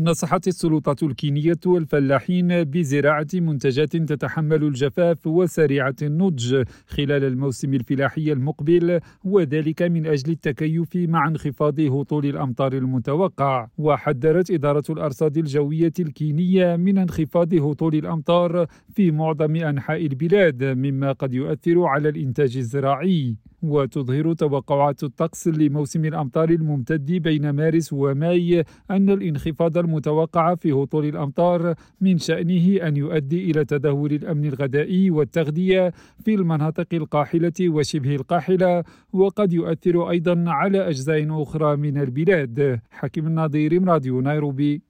نصحت السلطات الكينية الفلاحين بزراعة منتجات تتحمل الجفاف وسريعة النضج خلال الموسم الفلاحي المقبل، وذلك من أجل التكيف مع انخفاض هطول الأمطار المتوقع. وحذرت إدارة الأرصاد الجوية الكينية من انخفاض هطول الأمطار في معظم أنحاء البلاد، مما قد يؤثر على الإنتاج الزراعي. وتظهر توقعات الطقس لموسم الأمطار الممتد بين مارس وماي أن الانخفاض المتوقع في هطول الأمطار من شأنه أن يؤدي إلى تدهور الأمن الغذائي والتغذية في المناطق القاحلة وشبه القاحلة، وقد يؤثر أيضا على أجزاء أخرى من البلاد. حكيم النظير، راديو نيروبي.